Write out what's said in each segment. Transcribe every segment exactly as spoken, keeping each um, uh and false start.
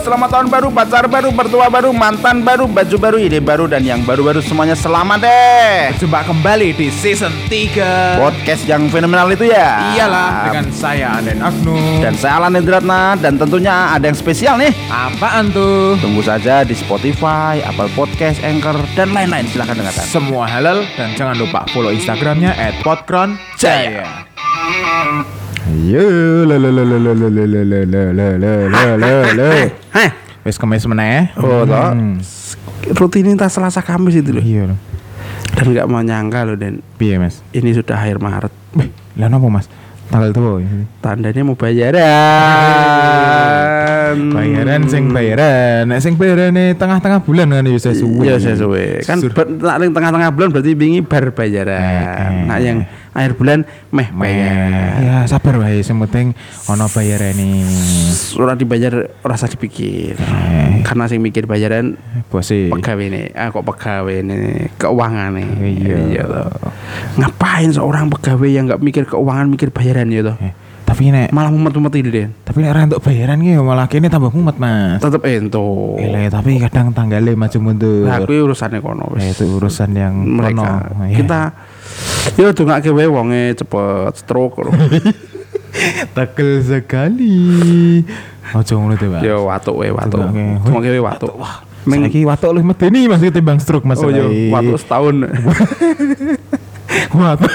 selamat tahun baru, pacar baru, mertua baru, mantan baru, baju baru, ide baru, dan yang baru-baru semuanya selamat deh. Berjumpa kembali di season tiga Podcast yang fenomenal itu ya. Iyalah, dengan saya Aden Agnu Dan saya Alan Endratna. Dan tentunya ada yang spesial nih. Apaan tuh? Tunggu saja di Spotify, Apple Podcast, Anchor, dan lain-lain. Silahkan dengarkan. Semua halal. Dan jangan lupa follow Instagramnya at podkronjaya. Yo, le le le le le le le le le le le le le le. Heh, Wes kemis meneh. oh toh. Hmm. Rutinitas Selasa Kamis itu loh. Iya loh. Dan nggak mau nyangka loh, Dan Piye Mas? ini sudah akhir Maret. Beh, lah napa Mas? Tanggal tuh Tandanya mau bayaran. bayaran sing bayaran. Nek sing bayarane tengah-tengah bulan kan ya sesuwe. Iya sesuwe. Kan ber- nak ning tengah-tengah bulan berarti wingi bar bayaran. Eh, eh. Nah yang akhir bulan meh bayar. Ya sabar wae, sing penting ana bayarane. Ora dibayar ora usah dipikir. Eh. Karena sing mikir bayaran Bose. pegawene. Ah kok pegawene keuvangane. Iya. toh. Ngapain seorang pegawai yang enggak mikir keuangan mikir bayaran ya toh? Eh, tapi nek Malah mumet-mumet ini, Den. tapi nek ra entuk bayaran ki malah kene tambah mumet Mas. Tetep ento. Gile, tapi kadang tanggalnya maju mundur. Nah, kuwi urusane kono Eh, wis. itu urusan yang Mereka. kono. Iya. Kita yo dongake wae wonge cepet stroke. Tekel sekali. Ojo ngono to, Mas. Yo watuk wae watuk. Dongake. Dongake wae watuk. Wah, Meng- saiki watuk luwih medeni Mas ketimbang stroke Mas. Oh yo Saiki. watuk setahun. Watuk.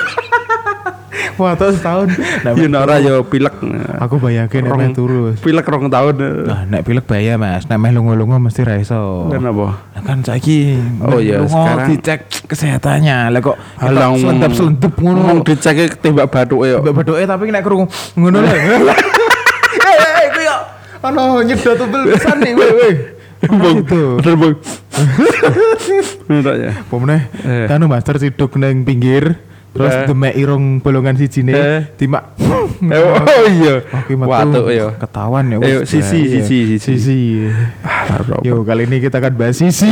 Watuk setahun. Nah, Yo ora yo pilek. aku bayangke nek Rong- meh turu. Pilek rong tahun. Nah, nek pilek bahaya Mas. Nek meh lunga-lunga mesti ra iso. Kenapa? Nah, kan saiki Oh meh iya, lunga sekarang- dicek kesehatannya. Lah kok Halang selendap-selendep ngono. Ngomong dicek tembak bathuke yo. Mbak badoke tapi nek krungu ngono lho. Eh, eh, ku yo ono nyedot tebel pisan nih, weh, weh. Bung, Itu. bener bung. Bener ya. Pomene Eh. kanu master siduk nang pinggir terus Eh. demek irung bolongan sijine Eh. timak. Eh, oh iya. Oke, metu. Watuk yo. Ketahuan ya. Ayo, wes, sisi, bahaya. sisi, sisi. Sisi. Ah, Yo, kali ini kita akan bahas sisi.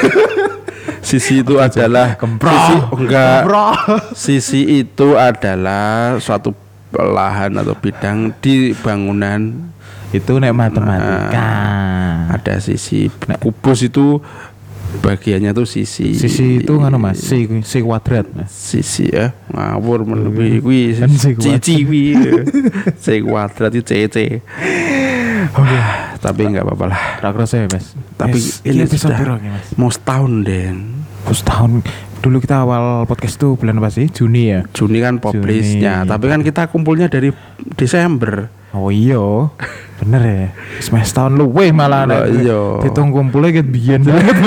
Sisi itu adalah Kemprok. Sisi oh, enggak. Kemprok. Sisi itu adalah suatu lahan atau bidang di bangunan. Itu nek matematika. Ada sisi kubus itu bagiannya tuh sisi. Sisi itu ngono Mas, si si kuadrat Mas. Sisi ya ngawur melebihi kuwi Kan si kuadrat. cici kuwi. C kuadrat itu C C. Oke. Tapi enggak apa-apa lah. Ra kerasa ya Mas. Tapi Yes, ini episode sudah piro iki, Mas? mau setahun Den. Terus tahun dulu kita awal podcast itu bulan apa sih? Juni ya. Juni kan publishnya, Juni. tapi kan kita kumpulnya dari Desember. Oh iya, bener ya. Semester tahun luweh malah Lah, nek iya. ditung kumpulnya ket biyen banget.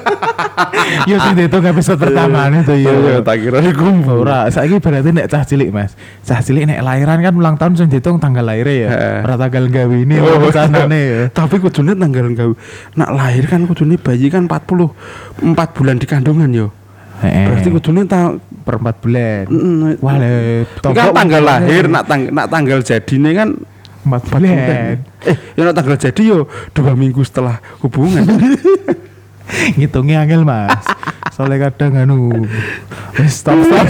Yo sing ditung episode pertama itu Iya, ya. tak kira kumpul. Ora, saiki berarti nek cah cilik Mas. Cah cilik nek lahiran kan ulang tahun sing ditung tanggal lahirnya ya. Heeh. Ora tanggal gawe ini Oh, oh, sanane ya. Tapi kudune tanggal gawe. Nak lahir kan kudune bayi kan empat puluh empat bulan di kandungan yo. Heeh. Berarti kudune ta per empat bulan. Mm, Wah, le kan tanggal lahir, nak tang nak tanggal jadine kan empat bulan. Eh, ya nak tanggal jadi yo dua minggu setelah hubungan. Ngitungnya angel Mas. Soalnya kadang anu wis stop stop.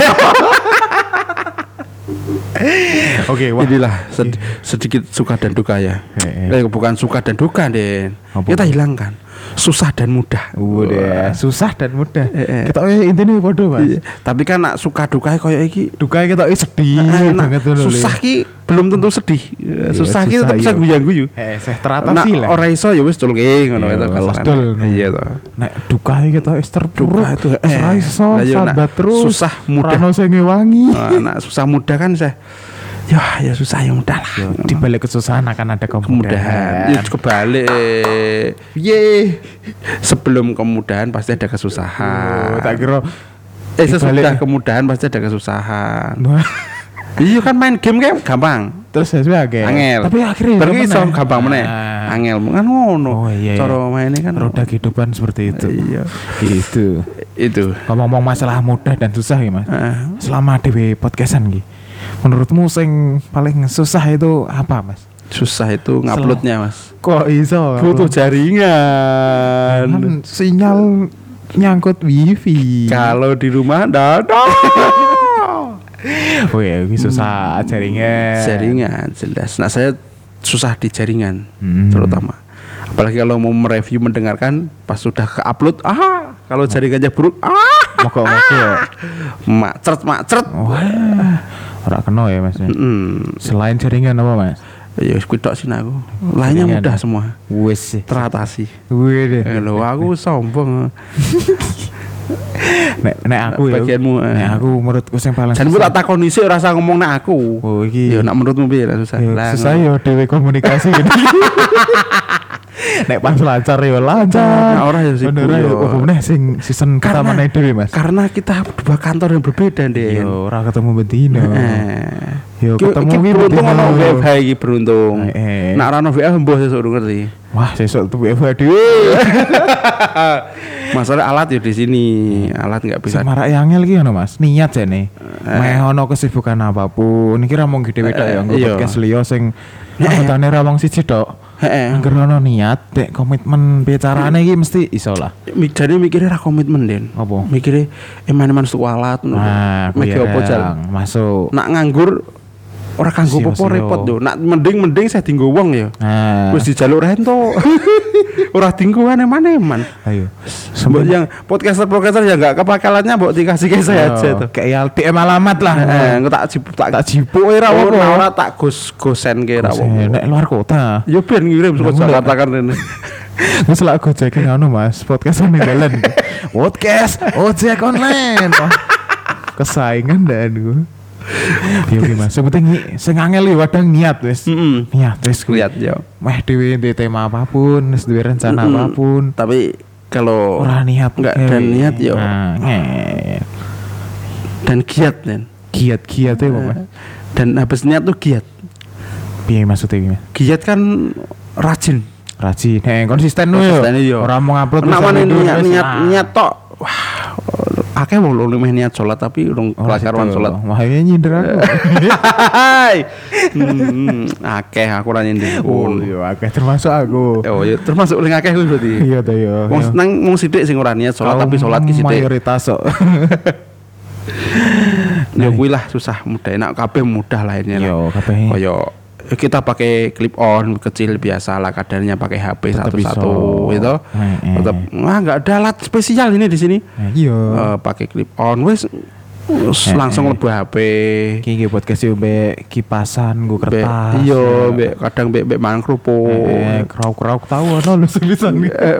Oke, wah. Inilah sed- sedikit suka dan duka ya. Eh, Eh, bukan suka dan duka, Den. Apa? Kita hilangkan susah dan mudah. Udah, susah dan mudah. Eh, eh. Kita eh intine padha, Mas. Iya. Tapi kan nak suka duka koyo iki Duka kita eh sedih eh, nak banget dulu. susah ki belum tentu sedih. Iya, susah ki tetap susah, bisa iya. guyu-guyu. Eh, saya Nah, teratasi lah. ora iso ya wis culke ngono Iya, itu los kasaran. dol. Iya to. Nek duka kita wis terpuruk. Duka itu, eh. Ora iso Lah, iya, nak sabat terus. susah mudah. Ora ono sing ngewangi. Nah, nak susah mudah kan saya ya ya susah ya mudah lah. Di balik kesusahan akan ada kemudahan. Kemudahan. Ya kebalik. Ye. Sebelum kemudahan pasti ada kesusahan. Oh, tak kira Eh di sesudah balik- kemudahan pasti ada kesusahan. Wah, Iya kan main game kan gampang. terus sesuai agak. Angel. Tapi akhirnya Berarti meneh. iso gampang meneh. Ah. Angel kan ngono. Oh, iya, iya. Cara mainnya kan Roda kehidupan seperti itu. Iya. Gitu. Itu. Ngomong-ngomong masalah mudah dan susah ya Mas. Ah. Selama dewe podcastan ki. Menurutmu sing paling susah itu apa Mas? Susah itu nguploadnya Mas. Kok iso? Butuh jaringan. Kan sinyal nyangkut wifi. Kalau di rumah ndak ada. Oh ya, ini susah jaringan. Jaringan jelas. Nah saya susah di jaringan Hmm. terutama. Apalagi kalau mau mereview mendengarkan pas sudah ke-upload, ah, kalau jaringannya buruk, ah, Moga-moga ya. macet macet. Wah, ora kena ya Mas. Mm. Selain jaringan apa Mas? Ya wis kuwi tok sih aku. Lainnya Jaringan. mudah semua. Wis sih. Teratasi. Wih deh. Eh, lho, aku sombong. Nek nek aku ya. Bagianmu, eh. Nek aku menurutku sing paling Jan tak takoni sik ora usah ngomong nek aku. Oh iki. Ya nek menurutmu piye lah susah. Ya, Lah, susah yo dhewe komunikasi gitu. Nek pas lancar yo lancar. Nah, ora ya sibuk Bener yo. yo. Oh, bener sing season pertama nek dhewe Mas. Karena kita dua kantor yang berbeda, Den. Yo ora ketemu betina. Eh. Yo Ki- ketemu ki ki beruntung betina. ono W F H iki beruntung. Eh, eh. Nek ora ono W F H mbah sesuk urung ngerti. Wah, sesuk tuh W F H dhewe. Masalah alat ya di sini. Alat enggak bisa. Sing marak angel ki ngono Mas. Niat jane. Meh ono kesibukan apapun. Iki ra mung gede tok ya nggo iya. podcast liya sing anggotane ra wong siji tok. Heeh. Angger ono niat, dek komitmen piye carane iki mesti iso lah. Jadi mikirnya ra komitmen, Den. Apa? Mikirnya eman-eman tuku alat ngono. Nah, Mikir apa jal? masuk. Nak nganggur ora kanggo Sio, apa sio. repot yo. Nak mending-mending saya dinggo wong ya. Nah, Wis dijaluk rento. Ora dinggo eman-eman. ayo. Mbok yang podcaster-podcaster yang enggak kepakalannya mbok dikasih ke saya aja tuh. Kayak D M alamat lah. Eh, engko tak jip- tak Tak jipuk ora ora apa. ora tak gus gosen ke ra Nek apa. luar kota. Yo ben ngirim saka Mulai. Jakarta kan rene. Wis lak gojek ngono Mas, podcast ning dalan. Podcast ojek online. Wah, kesaingan dan gue. Yo ki Mas, sebutin sing angel yo kadang niat wis. Heeh. Niat wis kuwi. Lihat yo. Meh dhewe ndek tema apapun, wis duwe rencana Mm-mm. apapun. Tapi kalau Ora niat enggak gawe. dan niat yo Nah, nget. dan giat Den. Giat-giat ya Mas. Dan habis niat tuh giat. Piye maksudnya iki Mas? Giat kan rajin. Rajin, eh konsisten lu yo. Konsisten, iya. Ora mau upload Nek terus mana upload niat terus. niat Ah. niat tok. Wah, akeh wong lu meh niat salat tapi urung Oh, kelar-karuan gitu. salat. Wah, ini nyindir aku. Hai. Hmm, akeh aku ora nyindir Oh, pun. iya, akeh termasuk aku. Oh, ya termasuk ring akeh kuwi berarti. Iya ta yo. Wong seneng mung sithik sing ora niat salat tapi salat ki sithik. Mayoritas kok. Ya kuwi lah susah mudah enak kabeh mudah lah ini lah. Yo, kabeh. Kaya kita pakai clip on kecil biasa lah kadarnya pakai H P Tetep satu-satu iso. gitu. Eh, eh. Tetap wah enggak ada alat spesial ini di sini. Nah, iya. Eh, pakai clip on wis wis Eh, langsung eh. lebu H P. Iki iki podcast yo mbek kipasan nggo Mbek- kertas. Iya, mbek kadang mbek mbek mangan kerupuk. Eh, krauk-krauk tahu ono lu sepisan. Eh,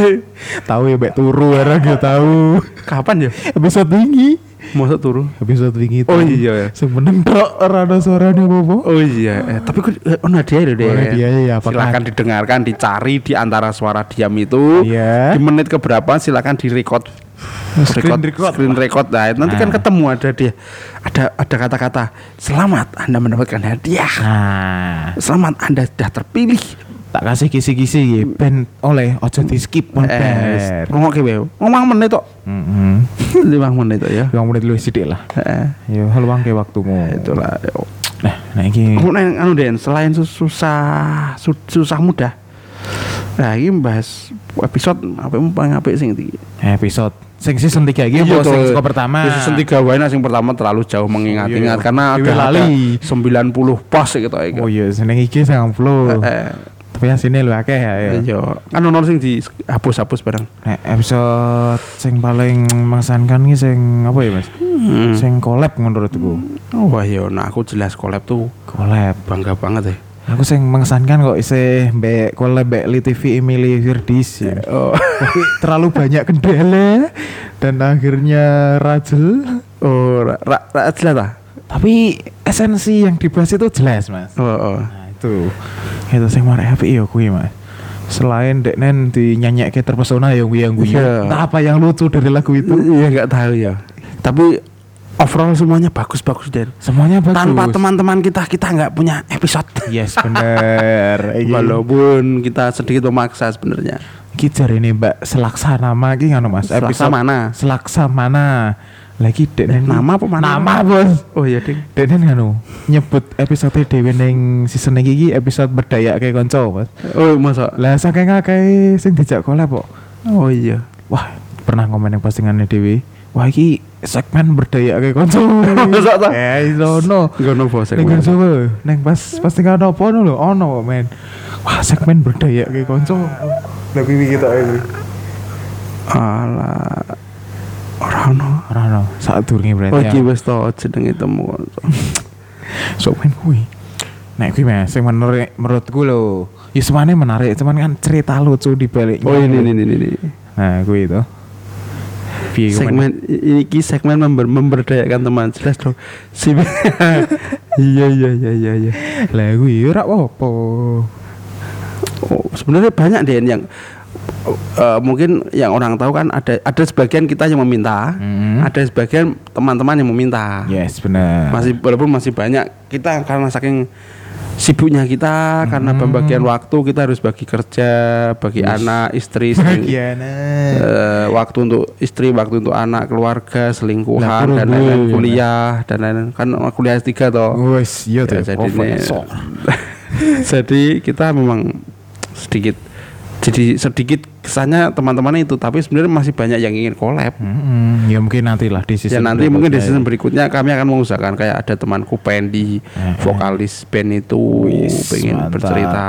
Tahu ya mbek turu era yo tahu. kapan ya? Episode wingi. Masa turu? Episode wingi. Oh iya. Sebenarnya tok ora ada suarane apa-apa. Oh iya, eh, tapi kok eh, ono dia lho deh. Ono hadiahnya ya, apakah- Silakan didengarkan, dicari di antara suara diam itu. Iya. Di menit keberapa silakan direcord. Screen record. Screen record. Nah, nanti kan Nah. ketemu ada dia. Ada ada kata-kata, "Selamat Anda mendapatkan hadiah. Nah, Selamat Anda sudah terpilih." tak kasih kisi-kisi iki ben oleh ojo di skip mon Eh, ber. ngomongi wae. Ngomong menit tok. Heeh. lima menit tok ya. Yang menit lu sithik lah. Heeh. Yo luang ke waktumu. Itulah. Nah, nah iki Kamu neng anu Den, selain sus- susah su- susah mudah. Nah, ini bahas episode apa yang paling apik sing iki. episode sing season tiga iki Iya apa sing tuh. saka pertama? Di season tiga wae nah, sing pertama terlalu jauh mengingat-ingat Iya. karena Dewe ada, ada lali. sembilan puluh pos gitu iki. Oh iya, seneng iki sembilan puluh. Eh, Tapi asine lu akeh ya. ya. iya. Kan ono sing dihapus-hapus bareng. Nah, episode sing paling mengesankan iki sing apa ya, Mas? Hmm. Sing collab menurutku. Oh, wah iya, nah aku jelas collab tuh Collab. bangga banget ya. Aku sing mengesankan kok isih mbek collab mbek Li T V Emily Firdis. Ya. Oh, Tapi terlalu banyak kendala dan akhirnya rajel. oh, ra, ra, ra jelas lah. Tapi esensi yang dibahas itu jelas, Mas. Oh, oh. Nah, itu. Itu sing marek apik ya kuwi, Mas. Selain Deknen dinyanyikke terpesona yang yang guyu. Iya. Entah apa yang lucu dari lagu itu. Iya nggak tahu ya. Tapi overall semuanya bagus-bagus Den. Semuanya bagus. Tanpa teman-teman kita kita nggak punya episode. Yes, bener. Iki. Walaupun kita sedikit memaksa sebenarnya. Iki jarine Mbak Selaksanama iki ngono Mas. Selaksamana. Selaksamana. Lagi Deknen Nama apa mana? Nama, Bos. Oh iya ding. Deknen ngono nyebut episode dhewe ning season iki iki episode berdayake kanca, Mas. Oh masa? Lah saking akeh sing dijak collab kok. Oh iya. Wah, pernah komen yang postingannya Dewi. Wah, iki segmen berdaya kayak konco. Masa ta? Eh, ono. Ngono bos. Ning coba, ning pas pas tinggal apa ono lho, ono men. Wah, segmen berdaya kayak konco. Lah pipi kita iki. Alah. Ora ono. Ora ono, sak durunge berarti. Oh iki wis to jenenge temu. Sok men kuwi. Nek kuwi Mas, sing menarik menurutku lho. Ya semane menarik, cuman kan cerita lucu di baliknya. Oh ini ini ini. Nah, kuwi itu. Piye Segmen iki segmen member, memberdayakan teman jelas dong. Si iya iya iya iya iya. Lah kuwi ora apa-apa. Oh, sebenarnya banyak deh yang uh, mungkin yang orang tahu kan ada ada sebagian kita yang meminta, Mm-hmm. ada sebagian teman-teman yang meminta. Yes, benar. Masih walaupun masih banyak kita karena saking sibuknya kita, karena Hmm. pembagian waktu kita harus bagi kerja, bagi Yes. anak, istri, seling- Bagian. eh, waktu untuk istri, waktu untuk anak, keluarga, Lah, selingkuhan kurang dan lain-lain, gue. kuliah dan lain-lain. Kan kuliah S tiga toh. Wes, iya tuh. Ya, jadi, Profesor. jadi kita memang sedikit jadi sedikit kesannya teman-teman itu, tapi sebenarnya masih banyak yang ingin collab. Mm-mm. Ya mungkin nantilah di Ya season nanti mungkin di berikutnya. season berikutnya kami akan mengusahakan kayak ada temanku Pendi, Eh, eh. vokalis band itu Wis, pengen mantap. bercerita.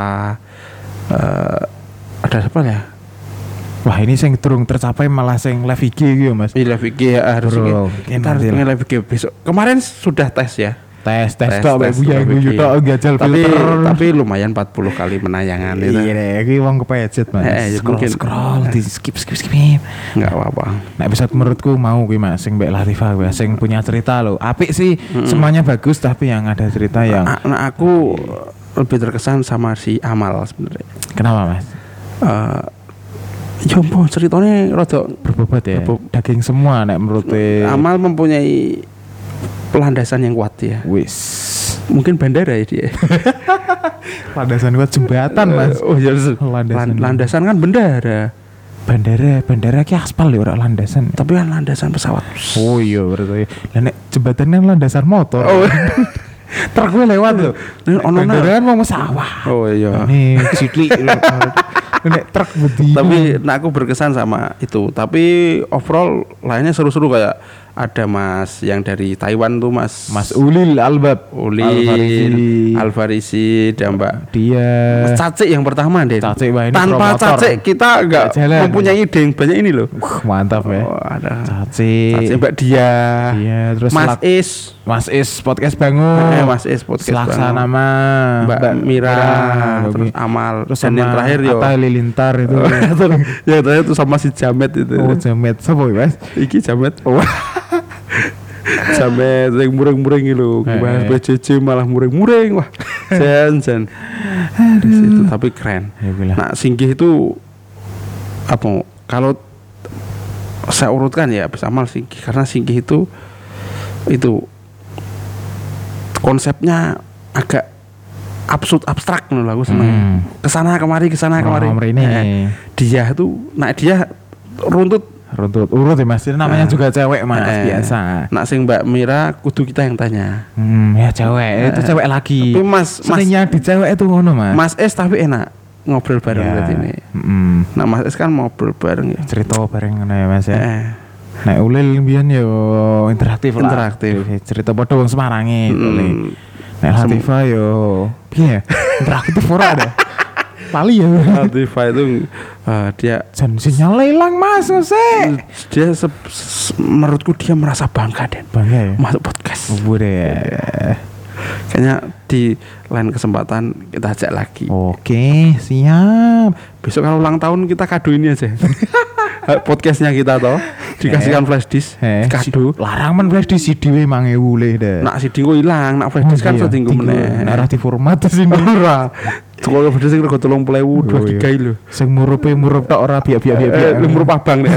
Eh, ada siapa ya? Wah, ini sing durung tercapai malah sing live I G gitu, Mas. Iya live I G ya harus Bro, ini. mungkin Kita harus nanti lah. pengen live I G besok. Kemarin sudah tes ya. Tes, Tes, tes tok tes, mek guyu live I G. guyu tok gajal Tapi filter. tapi lumayan empat puluh kali penayangan itu. Iya deh, iki wong kepejet, Mas. Eh, eh, Scroll, mungkin. scroll, di skip skip skip. Enggak apa-apa. Nah, episode menurutku mau kuwi Mas, sing Mbak Latifah kuwi, sing punya cerita loh. Apik sih, semuanya bagus tapi yang ada cerita yang Nah, nah, aku lebih terkesan sama si Amal sebenarnya. kenapa, Mas? Eh ya ampun ceritanya rada Berbobot ya. Berbobot. Daging semua nek menurut Amal mempunyai landasan yang kuat ya. wis. Mungkin bandara ya dia. Landasan kuat jembatan, Mas. Oh ya Landasan. landasan. landasan kan bandara. Bandara, bandara ki aspal ya ora landasan. Tapi kan landasan pesawat. Oh iya berarti. Lah nek jembatan kan landasan motor. Oh. Truk gue lewat loh. Ini ono Bandara kan mau sawah. Oh iya. Ini sikli. Nek truk budi. Tapi nah aku berkesan sama itu. Tapi overall lainnya seru-seru kayak ada Mas yang dari Taiwan tuh Mas Mas Ulil Albab, Ulil, Alfarisi, dan Mbak dia Mas Cacik yang pertama deh. Cacik, wah, ini Tanpa promotor. Cacik kita enggak Nggak jalan. mempunyai ide yang banyak ini loh. Wah, mantap ya. Oh, ada Caci, Cacik, Mbak Dia, Iya, terus Mas Selak- Is, Mas Is podcast bangun. eh, Mas Is podcast Selaksana Bang. nama Mbak, Mira, terus terus, Amal, terus dan sama yang terakhir yo. Atta Halilintar itu. yang terakhir itu sama si Jamet itu. Oh, Jamet sapa ya, Mas? Iki Jamet. Jamet yang mureng-mureng gitu. Bahas Eh. B C C malah mureng-mureng. Wah, jan jan. Di situ tapi keren. Ya bilang. Nah, Singgih itu apa? Kalau saya urutkan ya habis Amal Singgih karena Singgih itu itu konsepnya agak absurd abstrak nih aku seneng. Hmm. Kesana kemari kesana kemari. Oh, mrene. Eh, dia tuh, nah dia runtut. Runtut urut ya Mas. Ini namanya Nah. juga cewek Mas, Eh, biasa. Nak sing Mbak Mira kudu kita yang tanya. Hmm, ya cewek, itu cewek lagi. Tapi Mas Mas Seringnya di cewek itu ngono Mas. Mas S tapi enak ngobrol bareng Ya. berarti ini. Mm. Nah Mas S kan ngobrol bareng ya. Cerita bareng ngono ya Mas ya. Eh, Nek Ulil mbiyen yo interaktif lah. Interaktif. Cerita padha wong Semarange mm, Ulil. Nek Latifah yo piye? Interaktif ora ada. Pali ya. Latifah itu eh, dia Jan sinyal hilang Mas, sik. dia se- se- menurutku dia merasa bangga dan Bangga ya. masuk podcast. Bude ya. Kayaknya di lain kesempatan kita ajak lagi. Oke, siap. Besok kalau ulang tahun kita kado ini aja. Podcastnya kita toh dikasihkan flash disk Eh, kado. si- larang men flash di C D we mang ewu le deh. Nak C D ku hilang, nak flash disk kan iya, setinggu tinggu. meneh. Nek ora diformat di sini. Ora. Kalau flash disk rego tolong puluh ribu dua Oh, iya. giga lho. Sing murupe murup tok ora biak-biak biak. Eh, lumur pabang deh.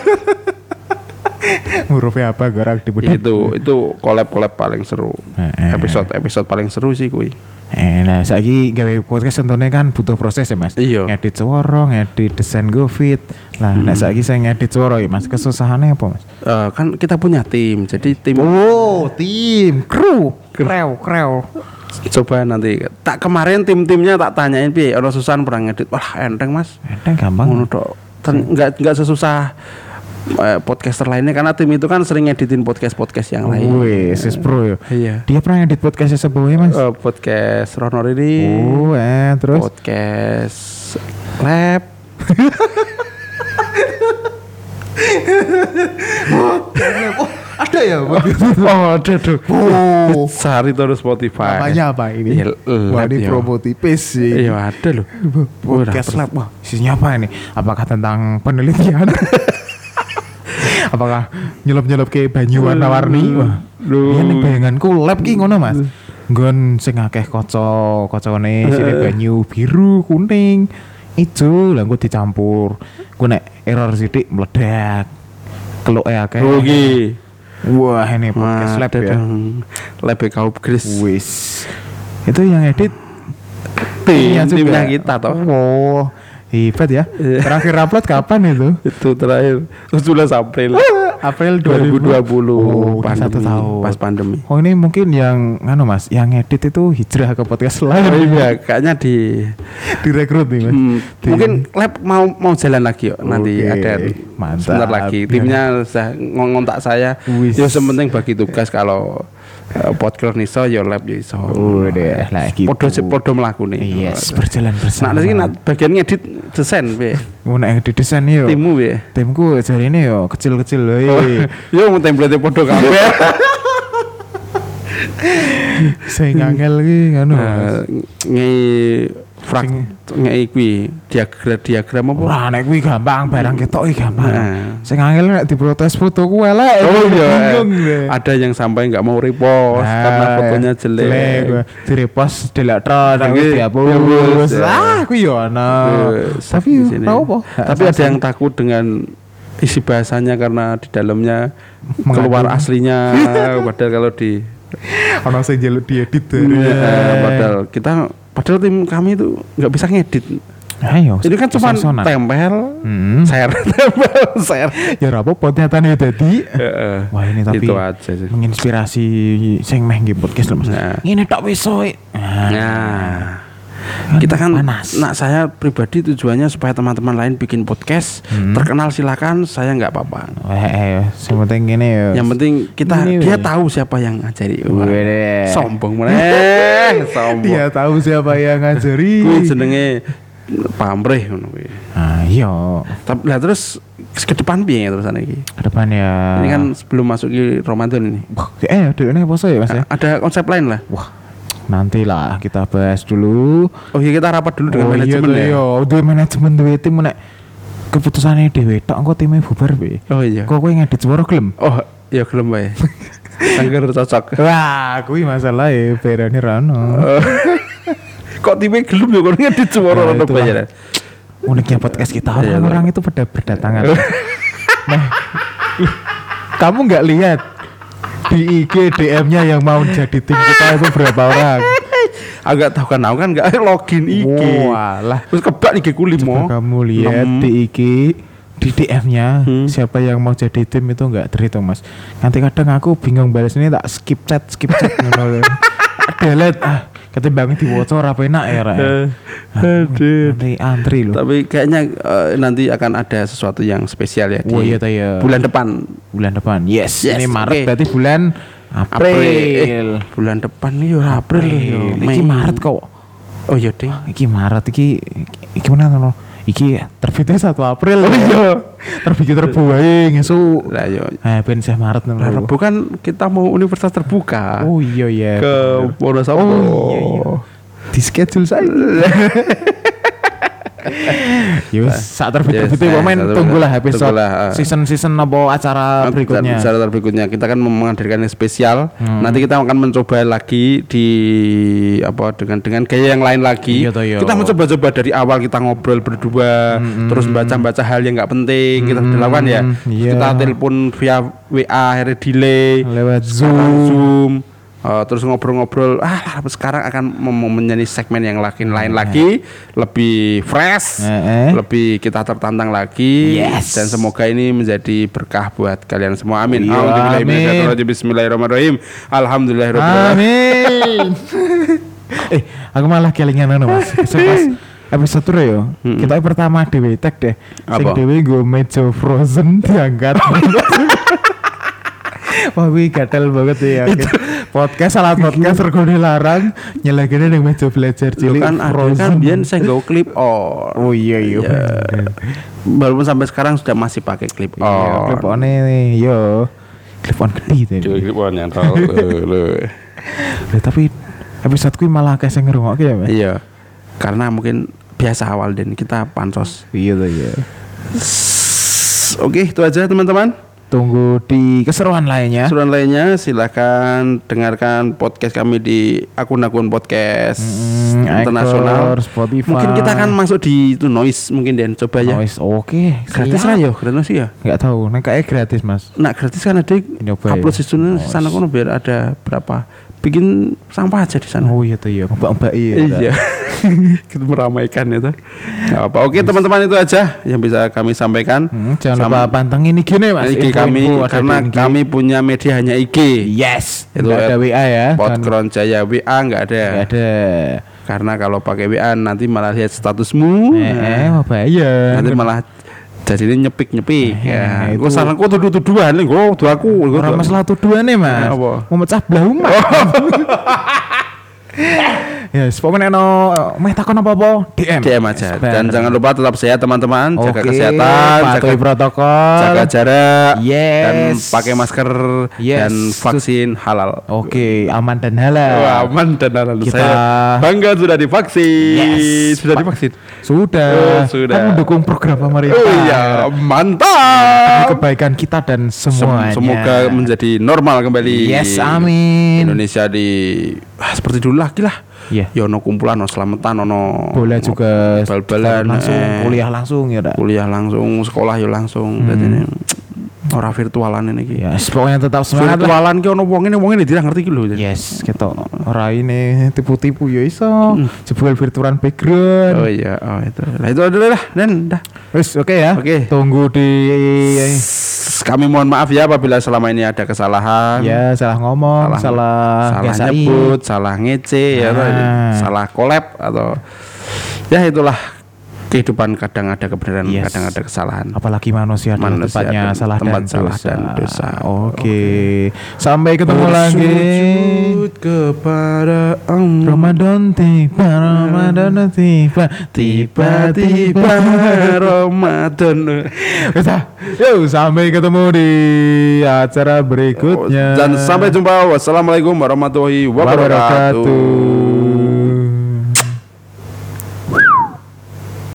Murupe apa gerak di Ya, itu itu collab-collab paling seru. Eh, eh. Episode episode paling seru sih kuwi. Eh, nah saiki gawe podcast tentunya kan butuh proses ya Mas. Iya. Ngedit suara, ngedit desain grafit. Lah, nek saiki saya ngedit suara ya Mas, kesusahannya apa Mas? Eh, kan kita punya tim, jadi tim Oh, tim, kru, krew, krew. coba nanti tak kemarin tim-timnya tak tanyain piye ono susahan pernah ngedit. Wah, enteng Mas. Enteng gampang. Ngono tok. Ten- Enggak enggak sesusah eh, podcaster lainnya karena tim itu kan sering ngeditin podcast-podcast yang lain. Wih, sis pro ya. Iya. Dia pernah edit podcastnya sebelumnya mas? Eh, podcast Ronor ini. Oh, eh terus? Podcast Lab. Ada ya? Oh, ada tuh. Oh, Cari terus Spotify. namanya apa ini? Ya, Wah, Lab, ini ya. promo tipis sih. Iya, ada loh. Podcast Udah, Lab. Wah, isinya apa ini? Apakah tentang penelitian? Apakah nyelup-nyelup ke banyu warna-warni? Wah, Duh. ini bayanganku lab ki ngono mas. Nggon sing akeh kaca, kacane sini banyu biru, kuning, ijo, lah engko dicampur. Ku nek error sithik meledak. Keluke akeh. Rugi. Wah, ini podcast lab ya. Lab Kaup Gris. Wis. Itu yang edit Tim, timnya juga. timnya kita toh. Oh, hebat ya. Iya. Terakhir upload kapan itu? Itu terakhir tujuh belas April April dua ribu dua puluh. Oh, udah satu tahun. Pas pandemi. Oh, ini mungkin yang nganu mas, yang edit itu hijrah ke podcast Oh, lain. iya, kayaknya di Direkrut nih mas. hmm, Di- mungkin lab mau mau jalan lagi yuk. Nanti Oke, ada mantap. sebentar lagi. Timnya sudah ngontak saya. Wis. Ya sementing bagi tugas kalau uh, podcast niso ya lab ya iso. Udah lah gitu. Podo podo mlaku nih. Yes, berjalan Nah, bersama. nanti nak bagian ngedit desain be. mau naik di desain yo. Timmu be. Timku jadi ini yo kecil-kecil loh. Yo mau template podo kabeh. Saya ngangel lagi nganu. Nah, ngi frak ngi kuwi diagram diagram apa? Wah, nek kuwi gampang, barang ketok iki gampang. Nah. Sing angel nek diprotes fotoku elek. Oh iya, Bingung deh. ada yang sampai nggak mau repost Nah, karena fotonya jelek. Di repost delete terus tapi Oke, dihapus. dihapus, ya. Ah, aku yo ana. Terus Tapi di sini. tau apa? Tapi ada yang takut dengan isi bahasanya karena di dalamnya keluar Mengandung. aslinya padahal kalau di ana sing njaluk diedit. eh, padahal kita padahal tim kami itu nggak bisa ngedit. Ayo. Ini kan cuma pesona. tempel, Hmm. share, tempel, share. Ya ora apa nyatane dadi. Heeh. Wah, ini tapi Itu aja sih. menginspirasi sing meh nggih podcast lho Mas. Nah. Ngene tok wis soe. Nah, kita kan, panas. nah saya pribadi tujuannya supaya teman-teman lain bikin podcast Hmm. terkenal silakan, saya nggak apa-apa. Eh, eh, sing penting ngene ya. Yang penting kita Ini, dia weh. tahu siapa yang ngajari. Wah, Wede. sombong meneh, sombong. Dia tahu siapa yang ngajari. Kuwi jenenge pamrih ngono kuwi. Ah, iya. Tapi lah terus ke depan piye terusan iki? Ke depan ya. Ini kan sebelum masuk ke Ramadan ini. Wah, eh, ada ini apa sih Mas ya? Ada konsep lain lah. Wah, nantilah kita bahas dulu. Oh iya kita rapat dulu dengan Oh iya manajemen tuh, ya. iya, duwe manajemen duwe tim nek keputusannya dhewe tok engko time bubar be. Oh iya. Kok kowe ngedit suara gelem? Oh, ya gelem bae. Angger cocok. Wah, kuwi masalah ya berani rano. Kok tipe gelem ya kok ngedit suara Nah, ono itulah. bayaran. Uniknya podcast kita Iya, orang-orang itu pada berdatangan. Nah, kamu nggak lihat di I G D M-nya yang mau jadi tim kita itu berapa orang? Agak tahu kan aku kan enggak login I G. Walah. Terus kebak I G ku limo. Coba kamu lihat enam. di I G di D M-nya Hmm. siapa yang mau jadi tim itu nggak terhitung mas. Nanti kadang aku bingung balas ini tak skip chat skip chat ngono. Delete ah ketimbang diwaca ora enak ya Ra. Aduh. Nanti antri loh. Tapi kayaknya eh, nanti akan ada sesuatu yang spesial ya di Oh iya ta ya. bulan depan. Bulan depan. Yes, Yes, ini oke. Maret berarti bulan April. Eh, bulan depan nih ya April ya. Iki Maret kok. Oh iya ding. Iki Maret iki iki mana no? Iki terbitnya satu April. Oh iya. Terbit terbu wae ngesuk. Lah yo. Eh ben sih Maret Lah, ngono. Rebu kan kita mau universitas terbuka. Oh iya iya. Ke Wonosobo. Oh iya iya. Di schedule saya. Yus, saat terbit Yes, terbitnya eh, momen saat tunggulah terbit- episode tunggulah, ah. season season apa acara berikutnya. Acara berikutnya kita akan menghadirkan yang spesial. Hmm. Nanti kita akan mencoba lagi di apa dengan dengan gaya yang lain lagi. Iya toh, iya. Kita mencoba-coba dari awal kita ngobrol berdua, terus baca-baca hal yang nggak penting kita sudah lakukan ya. iya. Kita telepon via W A akhirnya delay Lewat sekarang Zoom. Zoom. Uh, terus ngobrol-ngobrol ah sekarang akan mem- menjadi segmen yang lain lain lagi lebih fresh, Eh, eh. lebih kita tertantang lagi. Yes. Dan semoga ini menjadi berkah buat kalian semua. Amin. Iya, Alhamdulillah. amin. Bismillahirrahmanirrahim. Alhamdulillahirobbilalamin. Amin. eh, aku malah kelingan anu Mas. So, pas episode tour ya. Mm-mm. Kita pertama dhewe tag deh. Sing Apa? dhewe nggo meja frozen diangkat. Wah, wih gatel banget ya. Podcast salah podcast rego dilarang nyelagene ning meja belajar Lu cilik kan ada frozen. kan biyen saya nggo clip on. Oh iya iya. bener. Walaupun sampai sekarang sudah masih pakai clip on. Iya, clip on nih, yo. Clip on gede tuh. Clip on nyantol. Lah, tapi episode kuwi malah kayak sing ngrungokke ya, Mas. Iya. Karena mungkin biasa awal dan kita pansos. Iya tuh ya. Oke, itu aja teman-teman. Tunggu di keseruan lainnya. Keseruan lainnya silahkan dengarkan podcast kami di akun-akun podcast Hmm, internasional. Anchor, Spotify. Mungkin kita akan masuk di itu noise mungkin Dan coba ya. Noise, oke. Gratis lah yo, gratis ya. Enggak tahu, nek kayak gratis, Mas. Nah gratis kan ada Nyoba upload ya? di sana kono biar ada berapa bikin sampah aja di sana. Oh iya tuh ya, mbak-mbak iya. Iya. Kita meramaikan itu. Nggak apa. Oke teman-teman itu aja yang bisa kami sampaikan. Hmm, jangan Sama- lupa pantengin I G nih, Mas. I G kami Info-info ada karena di I G. kami punya media hanya I G. yes, Itu itu ada W A ya. Podkron Jaya W A nggak ada. Enggak ada. Karena kalau pakai W A nanti malah lihat statusmu. Eh, eh, apa bahaya. Nanti malah jadinya nyepik-nyepik. Eh, Ya, itu- gua salah gua tuduh-tuduhan nih, gua tuduh aku. gua Orang tuduh- masalah tuduhan nih, Mas. Apa? Mau mecah belah umat. Ya, pokoknya no meh takon apa-apa D M. D M aja. Dan jangan lupa tetap sehat teman-teman, jaga Oke, kesehatan, patuhi jaga protokol. jaga jarak, Yes. dan pakai masker Yes. dan vaksin halal. Oke, aman dan halal. Wah, aman dan halal. Kita- Saya bangga sudah divaksin. Yes. Sudah Pak- divaksin. Sudah. Oh, sudah. Kan mendukung program pemerintah. Oh iya, Demi mantap. kebaikan kita dan Sem- semuanya. Semoga menjadi normal kembali. Yes, amin. Indonesia di ah, seperti dulu lagi lah. Iya. Ya ono kumpulan, ono selamatan, ono Bola juga bal-balan, langsung, eh. kuliah langsung ya dak. kuliah langsung, sekolah ya langsung. Jadi ini ora virtualan ini iki. Ya, pokoknya tetap semangat lah. Virtualan ki ono wong ini wong ini tidak ngerti ki lho. Yes, gitu. Ora ini tipu-tipu ya iso. Jebul virtualan background. Oh iya, oh itu. Nah itu adalah lah dan dah. Wis oke ya. Oke. Tunggu di Kami mohon maaf ya apabila selama ini ada kesalahan. ya salah ngomong, salah salah biasain. nyebut, salah ngece, ya, atau Nah. salah collab atau ya itulah kehidupan kadang ada kebenaran, Yes. kadang ada kesalahan. Apalagi manusia adalah Manusia tempatnya adalah salah tempat dan salah dosa. dan dosa. Oke. Sampai ketemu lagi. Bersujud kepada Allah. Ramadan tiba, Ramadan tiba, tiba-tiba. Ramadan. Kita, yuk sampai ketemu di acara berikutnya. Dan sampai jumpa. Wassalamualaikum warahmatullahi wabarakatuh. Wabarakatuh.